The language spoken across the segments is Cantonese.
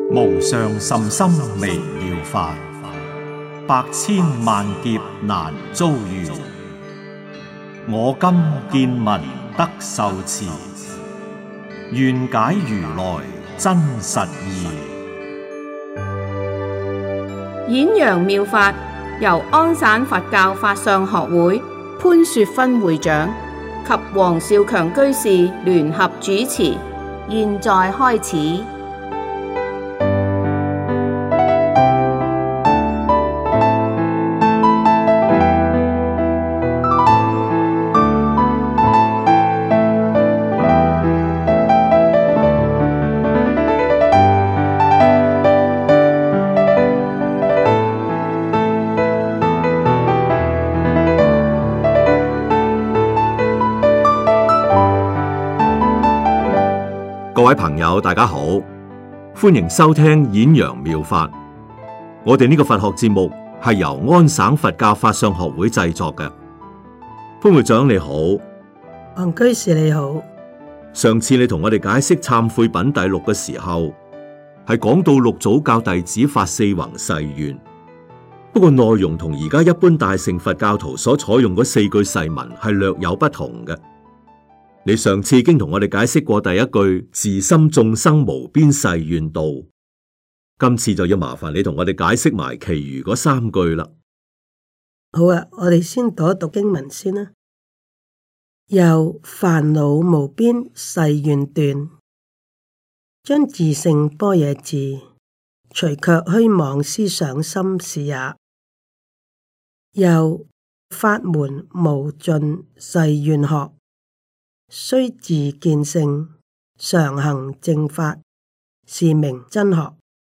無上甚深微妙法，百千萬劫難遭遇。我今見聞得受持，願解如來真實義。 演揚妙法由安省佛教法相學會潘雪芬會長及黃少強居士聯合主持，現在開始。 各位朋友，大家好，歡迎收聽演揚妙法。我哋呢個佛學節目係由安省佛教法相學會製作嘅。潘會長你好， 黃居士你好。 上次你同我哋解釋懺悔品第六嘅時候，係講到六祖教弟子發四弘誓願，不過內容同而家一般大乘佛教徒所採用嗰四句誓文係略有不同嘅。你上次已經同我哋解釋過第一句自心眾生無邊誓願度，今次就要麻煩你同我哋解釋埋其餘嗰三句啦。 好啊，我哋先讀一讀經文先啦。又煩惱無邊誓願斷，將自性般若智，除卻虛妄思想心是也。又法門無盡誓願學，須自見性，常行正法，是名真學。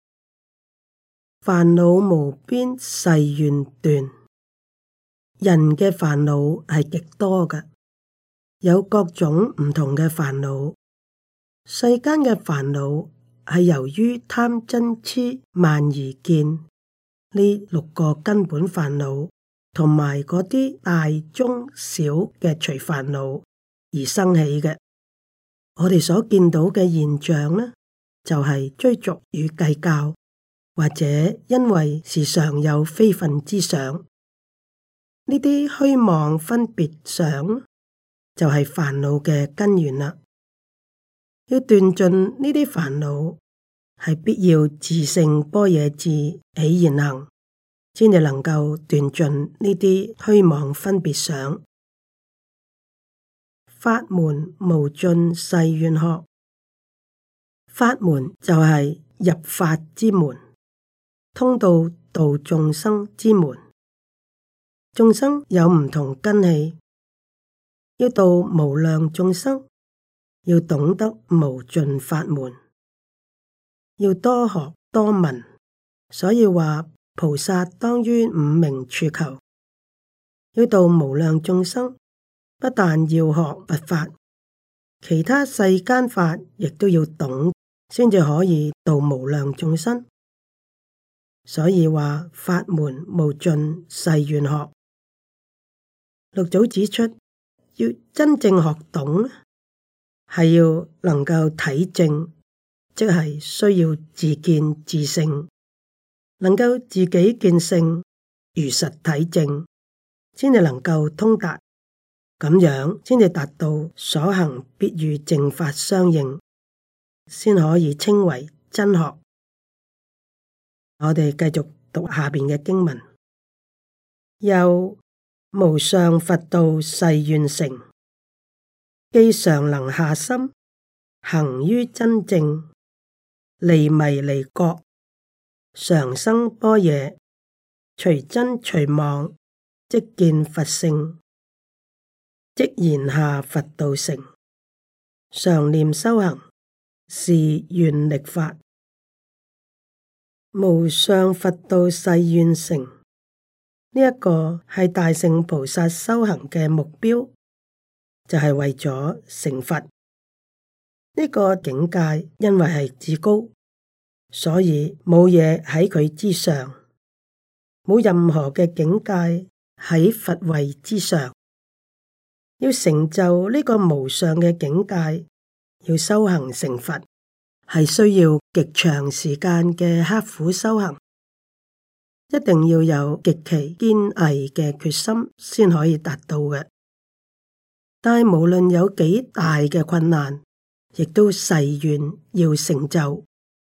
煩惱無邊誓願斷，人嘅煩惱係極多嘅，有各種唔同嘅煩惱。世間嘅煩惱係由於貪嗔癡慢疑見呢六個根本煩惱，同埋嗰啲大中小嘅隨煩惱而生起嘅。我哋所見到嘅現象呢，就係追逐與計較，或者因為時常有非分之想，呢啲虛妄分別想就係煩惱嘅根源啦。要斷盡呢啲煩惱，係必要自性般若智起現行，先至能夠斷盡呢啲虛妄分別想。法門無盡誓願學，法門就係入法之門，通到度眾生之門。眾生有唔同根器，要度無量眾生，要懂得無盡法門，要多學多聞。所以話菩薩當於五明處求，要度無量眾生，不但要學佛法，其他世間法亦都要懂，先至可以度無量眾生。所以話法門無盡誓願學。六祖指出，要真正學懂，係要能夠體證，即係需要自見自性，能夠自己見性，如實體證，先至能夠通達。咁樣先至達到所行必與正法相應，先可以稱為真學。我哋繼續讀下邊嘅經文。又無上佛道誓願成，既常能下心，行於真正，離迷離覺，常生般若，隨真隨妄，即見佛性。即言下佛道成，常念修行，是願力法。無上佛道誓願成，呢一個係大聖菩薩修行嘅目標，就係為咗成佛。呢個境界因為係至高，所以冇嘢喺佢之上，冇任何嘅境界喺佛位之上。要成就呢個無上嘅境界，要修行成佛， 係需要極長時間嘅刻苦修行，一定要有極其堅毅嘅決心先可以達到嘅。但係無論有幾大嘅困難，亦都誓願要成就。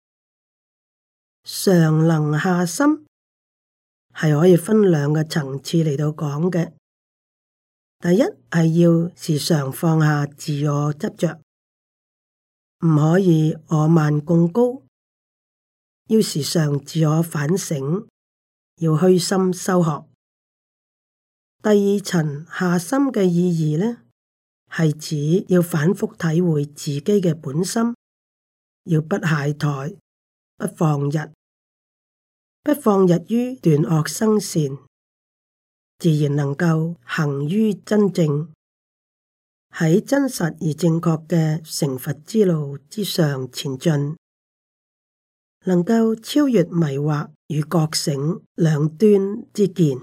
上能下心係可以分兩個層次嚟到講嘅。第一係要時常放下自我執着，唔可以我慢貢高，要時常自我反省，要虛心修學。第二層下心嘅意義呢，係指要反覆體會自己嘅本心，要不懈怠，不放逸，不放逸於斷惡生善，自然能夠行於真正，喺真實而正確嘅成佛之路之上前進，能夠超越迷惑與覺醒兩端之見。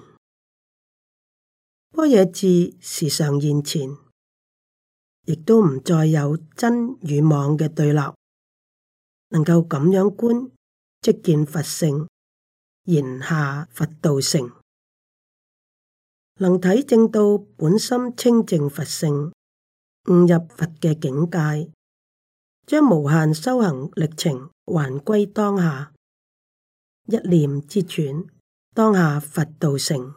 般若智時常現前，亦都唔再有真與妄嘅對立，能夠咁樣觀，即見佛性，言下佛道成，能體證到本心清淨佛性，悟入佛嘅境界，將無限修行歷程還歸當下，一念之轉，當下佛道成。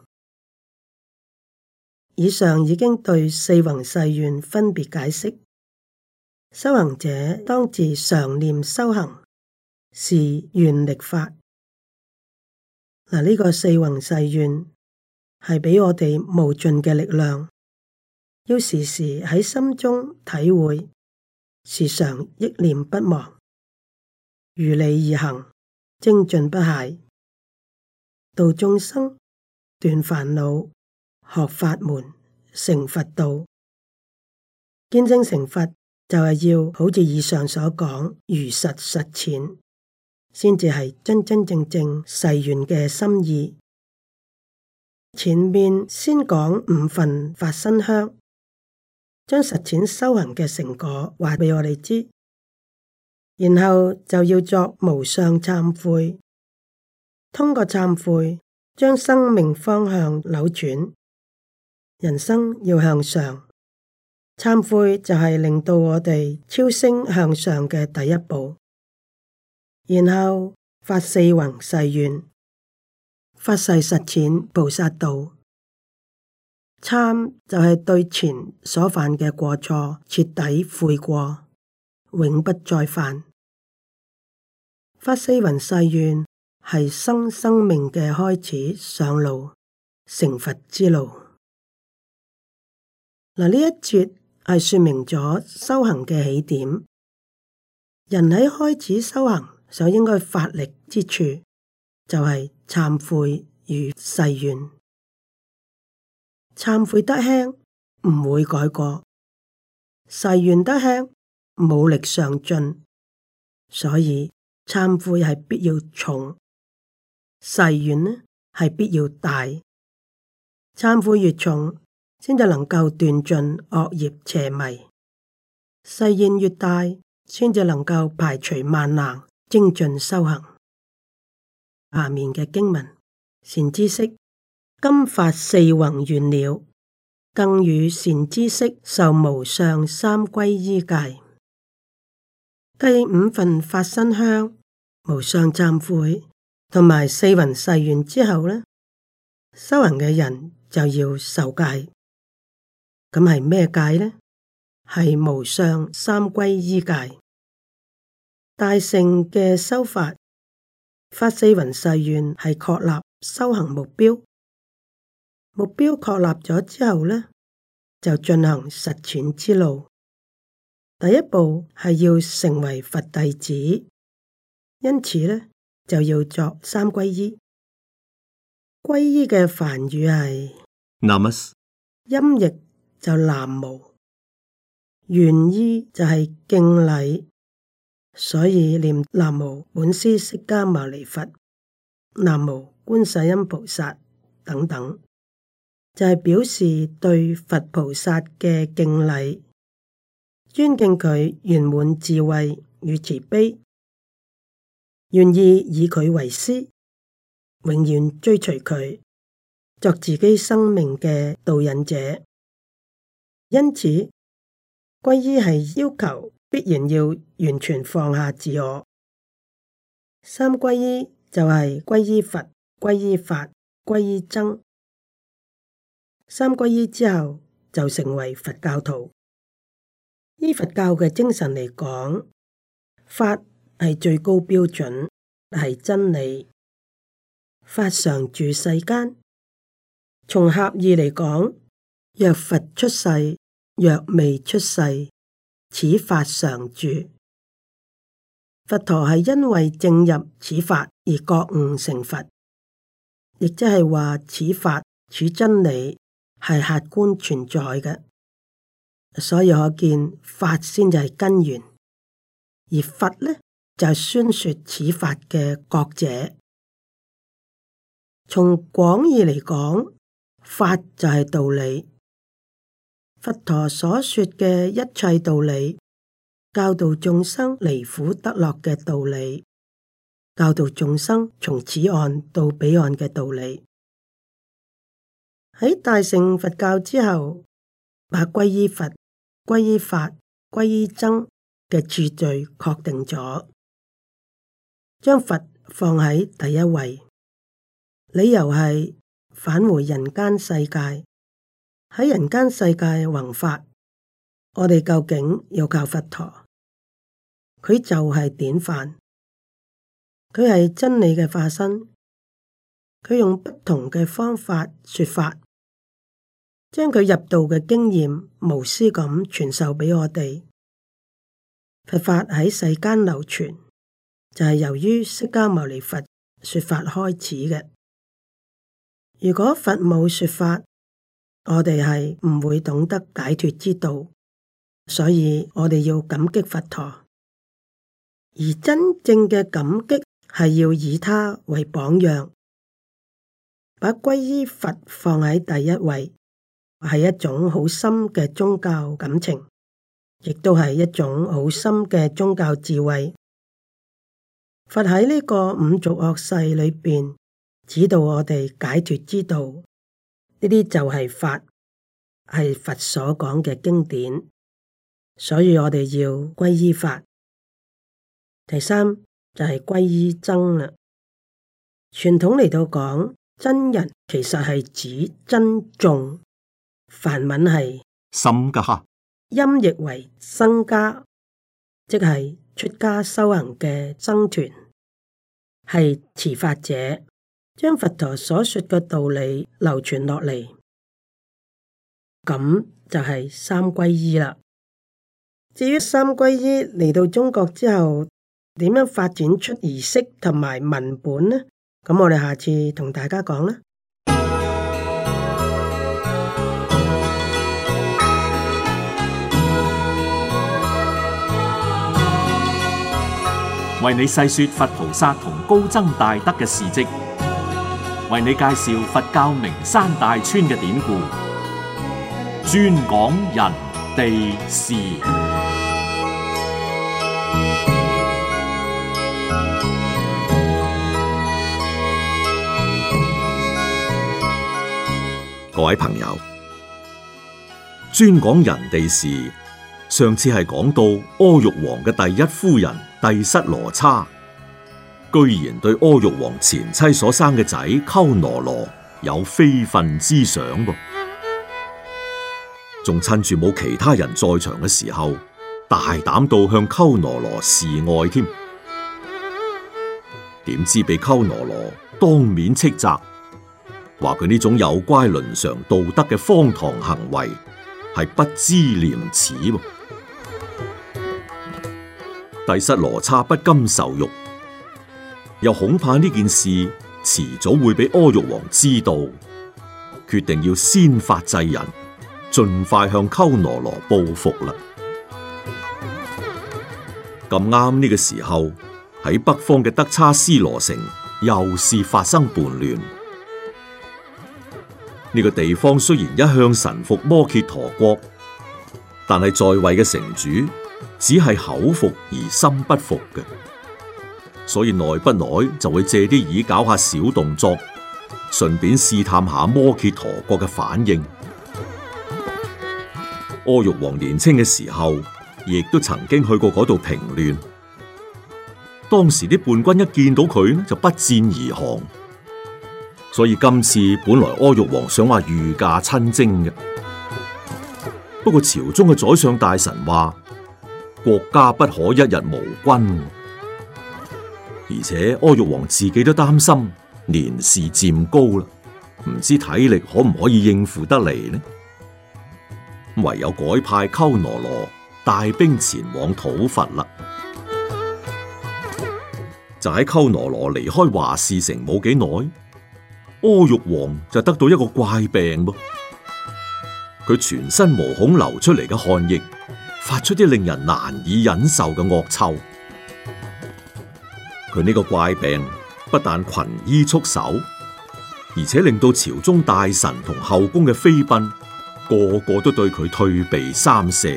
以上已經對四弘誓願分別解釋，修行者當自常念修行，是願力法。嗱，呢個四弘誓願係俾我哋無盡嘅力量，要時時喺心中體會，時常憶念不忘，如理而行，精進不懈，度眾生，斷煩惱，學法門，成佛道。見證成佛就係要好似以上所講，如實實踐，先至係真真正正誓願嘅心意。前面先講五分法身香，將實踐修行嘅成果話俾我哋知，然後就要作無相懺悔，通過懺悔將生命方向扭轉，人生要向上。懺悔就係令到我哋超升向上嘅第一步，然後發四弘誓願，發誓實踐菩薩道。懺就係對前所犯嘅過錯徹底悔過，永不再犯。發四弘誓願係生命嘅開始，上路成佛之路。嗱，呢一節係說明咗修行嘅起點。人喺開始修行所應該發力之處，就係懺悔與誓願。懺悔得輕，唔會改過；誓願得輕，冇力上進。所以懺悔係必要重，誓願呢係必要大。懺悔越重，先至能夠斷盡惡業邪迷；誓願越大，先至能夠排除萬難，精進修行。下面嘅經文，善知識，今發四弘願了，更與善知識受無上三皈依戒。繼五分法身香、無上懺悔同埋四弘誓願之後呢，修行嘅人就要受戒。咁係咩戒呢？係無上三皈依戒。大乘嘅修法，發四弘誓願係確立修行目標。目標確立咗之後呢，就進行實踐之路。第一步係要成為佛弟子，因此呢，就要作三皈依。皈依嘅梵語係 Namas， 音譯就南無，原意就係敬禮，所以念南無本師釋迦牟尼佛、南無觀世音菩薩等等，就係表示對佛菩薩嘅敬禮，尊敬佢圓滿智慧與慈悲， 願意以佢為師，永遠追隨佢，作自己生命嘅導引者。因此，皈依係要求必然要完全放下自我。三皈依就係皈依佛、皈依法、皈依僧。三皈依之後就成為佛教徒。依佛教嘅精神嚟講，法係最高標準，係真理。法常住世間。從狹義嚟講，若佛出世，若未出世，此法常住。佛陀係因為證入此法而覺悟成佛，亦即係話此法、此真理係客觀存在嘅，所以可見法先就係根源，而佛呢就係宣說此法嘅覺者。從廣義嚟講，法就係道理。佛陀所說嘅一切道理，教導眾生離苦得樂嘅道理，教導眾生從此岸到彼岸嘅道理。喺大乘佛教之後，把皈依佛、皈依法、皈依僧嘅次序確定咗，將佛放喺第一位。理由係返回人間世界，喺人間世界弘法，我哋究竟要靠佛陀，佢就係典範，佢係真理嘅化身，佢用不同嘅方法說法，將佢入道嘅經驗無私咁傳授俾我哋。佛法喺世間流傳，就係由於釋迦牟尼佛說法開始嘅。如果佛冇說法，我哋係唔會懂得解脫之道，所以我哋要感激佛陀。而真正嘅感激係要以他為榜樣，把皈依佛放喺第一位，係一種好深嘅宗教感情，亦都係一種好深嘅宗教智慧。佛喺呢個五濁惡世裏邊，指導我哋解脫之道，呢啲就係法，係佛所講嘅經典，所以我哋要皈依法。第三就係皈依僧啦。傳統嚟到講，僧人其實係指僧眾，梵文係僧伽， 音譯為僧伽，即係出家修行嘅僧團，係持法者。將佛陀所說嘅道理流傳落嚟，咁就係三皈依啦。至於三皈依嚟到中國之後，點樣發展出儀式同埋文本呢？咁我哋下次同大家講啦。 為你細說佛菩薩同高僧大德嘅事跡，為你介紹佛教名山大川嘅典故，專講人地事。 各位朋友，專講人地事。上次係講到阿育王嘅第一夫人帝室羅叉，居然對阿育王前妻所生嘅仔鳩羅羅有非分之想噃，仲趁住冇其他人在場嘅時候，大膽到向鳩羅羅示愛添。點知被鳩羅羅當面斥責，話佢呢種有乖倫常道德嘅荒唐行為係不知廉恥噃。帝室羅叉不甘受辱，又恐怕呢件事遲早會俾阿育王知道，決定要先發制人，盡快向鳩羅羅報復啦。咁啱呢個時候，喺北方嘅德差斯羅城又是發生叛亂。呢個地方雖然一向臣服摩羯陀國，但係在位嘅城主只係口服而心不服嘅。 所以耐不耐就會借啲意搞下小動作，順便試探下摩羯陀國嘅反應。阿育王年青嘅時候，亦都曾經去過嗰度平亂。當時啲叛軍一見到佢呢，就不戰而降。所以今次本來阿育王想話御駕親征嘅，不過朝中嘅宰相大臣話國家不可一日無君，而且阿育王自己都擔心年事漸高啦，唔知體力可唔可以應付得嚟呢？唯有改派鳩羅羅帶兵前往討伐啦。就喺鳩羅羅離開華氏城冇幾耐，阿育王就得到一個怪病噃。佢全身毛孔流出嚟嘅汗液，發出啲令人難以忍受嘅惡臭。佢呢個怪病不但群醫束手，而且令到朝中大臣同後宮嘅妃嬪個個都對佢退避三舍。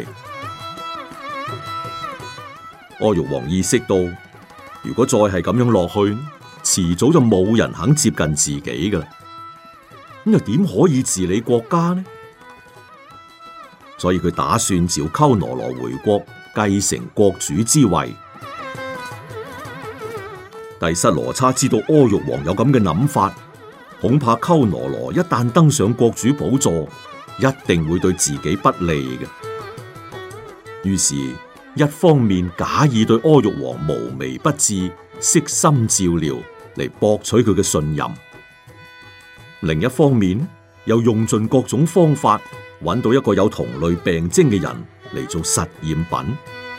阿育王意識到，如果再係咁樣落去，遲早就冇人肯接近自己噶啦。咁又點可以治理國家呢？所以佢打算召鳩羅羅回國，繼承國主之位。帝室羅差知道阿育王有咁嘅諗法，恐怕鳩羅羅一旦登上國主寶座，一定會對自己不利嘅。於是，一方面假意對阿育王無微不至、悉心照料，嚟博取佢嘅信任；另一方面，又用盡各種方法，揾到一個有同類病徵嘅人嚟做實驗品。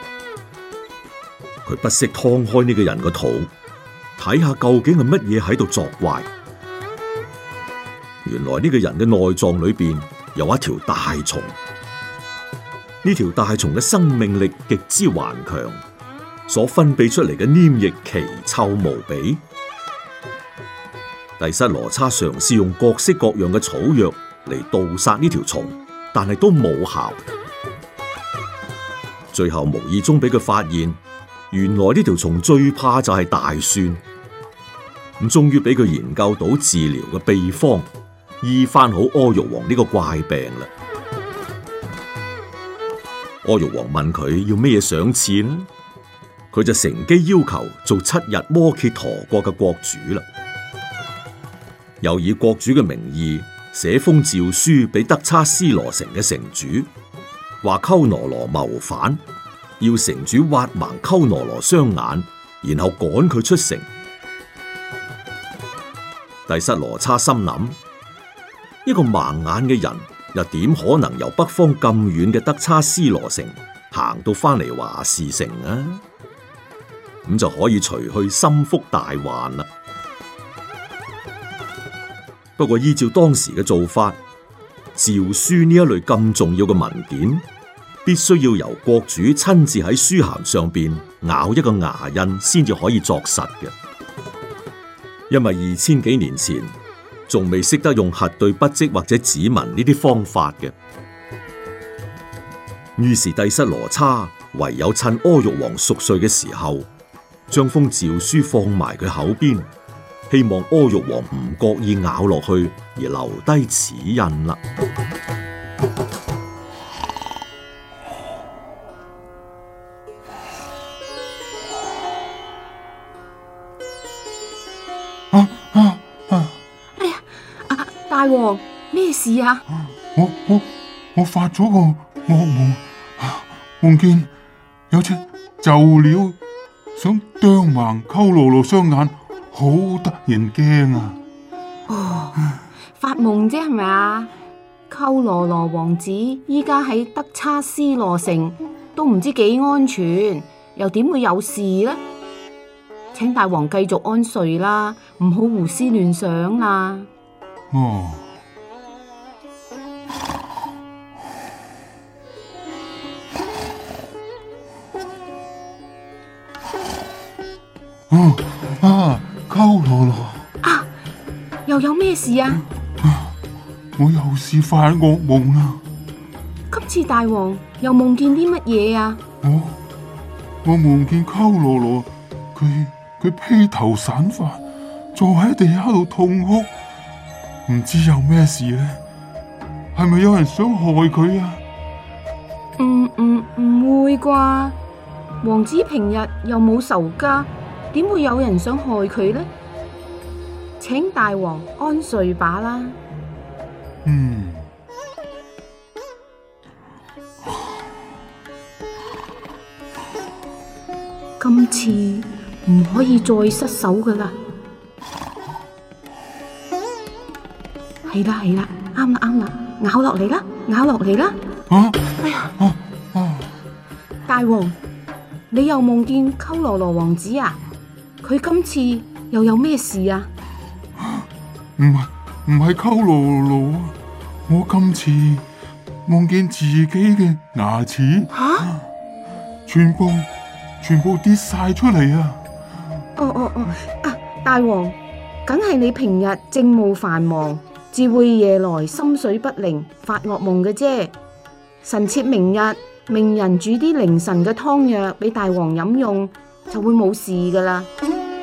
佢不惜劏開呢個人個肚，睇下究竟係乜嘢喺度作怪。原來呢個人嘅內臟裏邊有一條大蟲，呢條大蟲嘅生命力極之頑強，所分泌出嚟嘅黏液奇臭無比。帝室羅差嘗試用各式各樣嘅草藥嚟毒殺呢條蟲，但係都冇效。最後無意中俾佢發現，原來呢條蟲最怕就係大蒜。咁終於俾佢研究到治療嘅秘方，醫翻好阿育王呢個怪病啦。阿育王問佢要咩嘢賞賜呢？佢就乘機要求做7日摩羯陀國嘅國主啦。又以國主嘅名義寫封詔書俾德差斯羅城嘅城主，話鳩羅羅謀反，要城主挖盲鳩羅羅雙眼，然後趕佢出城。帝室羅差心諗，一個盲眼嘅人又點可能由北方咁遠嘅德差斯羅城行到翻嚟華氏城啊？咁就可以除去心腹大患啦。不過依照當時嘅做法，詔書呢一類咁重要嘅文件，必須要由國主親自喺書函上邊咬一個牙印先至可以作實嘅。因為2000幾年前仲未識得用核對筆跡或者指紋呢啲方法嘅，於是帝室羅差唯有趁阿育王熟睡嘅時候，將封詔書放埋佢口邊，希望阿育王唔覺意咬落去而留低齒印啦。 哎呀，大王，咩事啊？ 我發咗個惡夢，夢見有隻鷲鳥想啄盲鳩羅羅雙眼，好得人驚啊！ 哦，發夢啫係咪啊？鳩羅羅王子依家喺德差斯羅城，都唔知幾安全，又點會有事呢？請大王繼續安睡啦，唔好胡思亂想啦。 哦，鳩羅羅啊，又有咩事啊？ 我又試發惡夢啦！ 今次大王又夢見啲乜嘢啊？ 我夢見鳩羅羅，佢佢披頭散髮，坐喺地下度痛哭，唔知有咩事呢？係咪有人想害佢啊？ 唔會啩？王子平日又冇仇家，點會有人想害佢呢？請大王安睡吧啦。今次唔可以再失手噶啦。係啦，啱啦，咬落嚟啦。哎呀！大王，你又夢見鳩羅羅王子啊？佢今次又有咩事啊？ 唔係鳩羅羅啊！我今次夢見自己嘅牙齒，全部跌晒出嚟啊！ 大王，梗係你平日政務繁忙，至會夜來心緒不寧，發惡夢嘅啫。臣妾明日命人煮啲凌晨嘅湯藥俾大王飲用，就會冇事噶啦。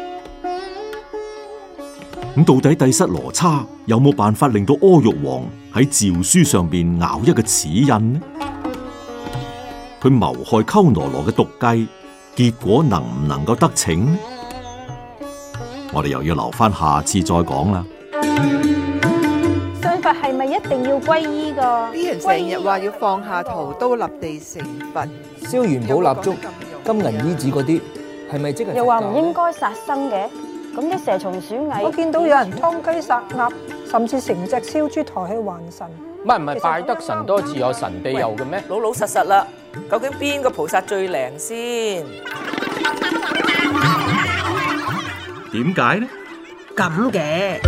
咁到底帝室羅叉有冇辦法令到阿育王喺詔書上邊咬一個齒印呢？佢謀害鳩羅羅嘅毒計，結果能唔能夠得逞呢？我哋又要留翻下次再講啦。 信佛係咪一定要皈依噶？ 啲人成日話要放下屠刀立地成佛， 燒元寶蠟燭、金銀衣紙嗰啲，係咪即係？ 又話唔應該殺生嘅，咁啲蛇蟲鼠蟻， 我見到有人劏雞殺鴨，甚至成隻燒豬抬去還神。 唔係拜得神多自有神庇佑嘅咩？ 老老實實啦，究竟邊個菩薩最靈先？ 點解呢？ 咁嘅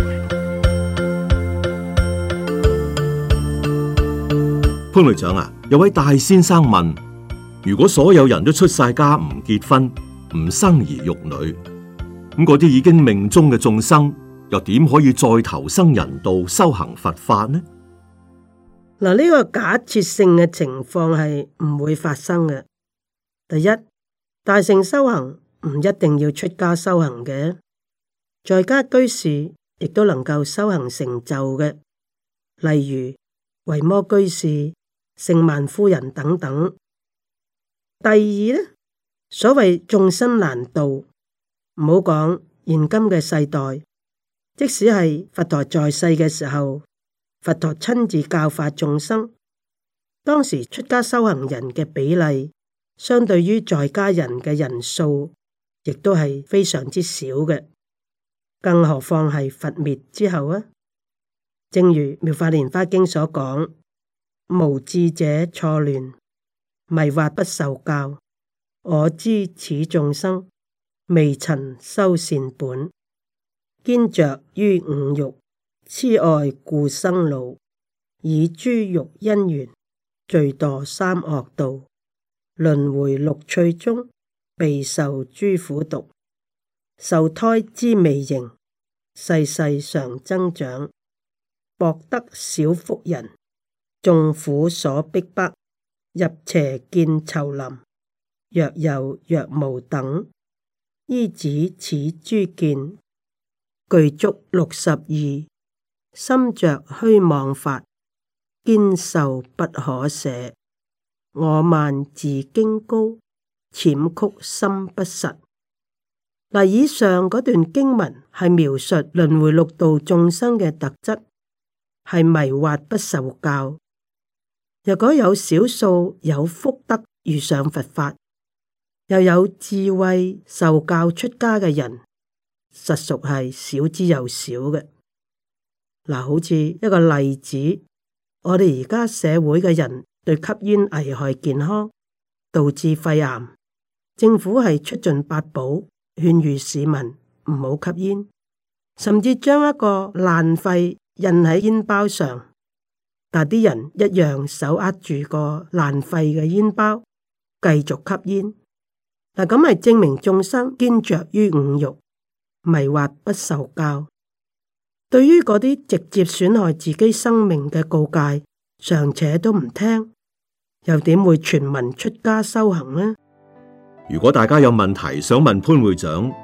潘會長啊，有位大先生問：如果所有人都出晒家唔結婚、唔生兒育女，咁嗰啲已經命終嘅眾生，又點可以再投生人道修行佛法呢？ 嗱，呢個假設性嘅情況係唔會發生嘅。第一，大乘修行唔一定要出家修行嘅，在家居士亦都能夠修行成就嘅，例如維摩居士、聖曼夫人等等。第二呢，所謂眾生難度，唔好講現今嘅世代，即使係佛陀在世嘅時候，佛陀親自教化眾生，當時出家修行人嘅比例，相對於在家人嘅人數，亦都係非常之少嘅。更何況係佛滅之後啊！正如《妙法蓮華經》所講：無智者錯亂，迷惑不受教。我知此眾生未曾修善本，堅着於五欲，痴愛故生老，以諸欲因緣，罪墮三惡道，輪迴六趣中，備受諸苦毒。受胎之微形，世世常增長，薄得小福人，眾苦所逼迫，入邪見稠林，若有若無等，依止此諸見，具足62，心着虛妄法，堅受不可捨。我慢自矜高，諂曲心不實。嗱，以上嗰段經文係描述輪迴六道眾生嘅特質，係迷惑不受教。若果有少數有福德遇上佛法，又有智慧受教出家嘅人，實屬係少之又少嘅。嗱，好似一個例子，我哋而家社會嘅人對吸煙危害健康，導致肺癌，政府係出盡八寶，勸喻市民唔好吸煙，甚至將一個爛肺印喺煙包上，但啲人一樣手握住個爛肺嘅煙包，繼續吸煙。嗱，咁係證明眾生堅着於五欲，迷惑不受教。對於嗰啲直接損害自己生命嘅告誡，尚且都唔聽，又點會全民出家修行呢？ 如果大家有問題想問潘會長，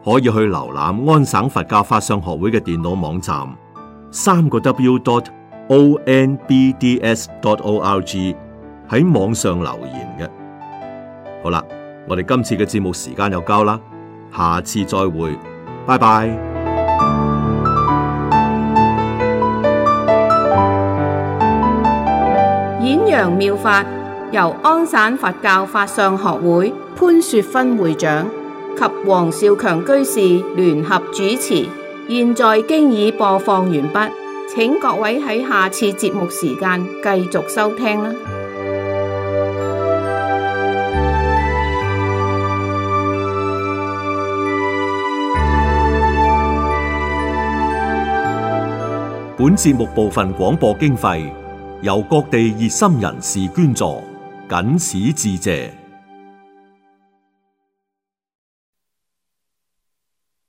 可以去瀏覽安省佛教法相學會嘅電腦網站3個W.onbds.org 喺網上留言嘅。好啦，我哋今次嘅節目時間又夠啦，下次再會，拜拜。 演揚妙法由安省佛教法相學會潘雪芬會長及黃少強居士聯合主持，現在經已播放完畢，請各位喺下次節目時間繼續收聽啦。 本節目部分廣播經費由各地熱心人士捐助，謹此致謝。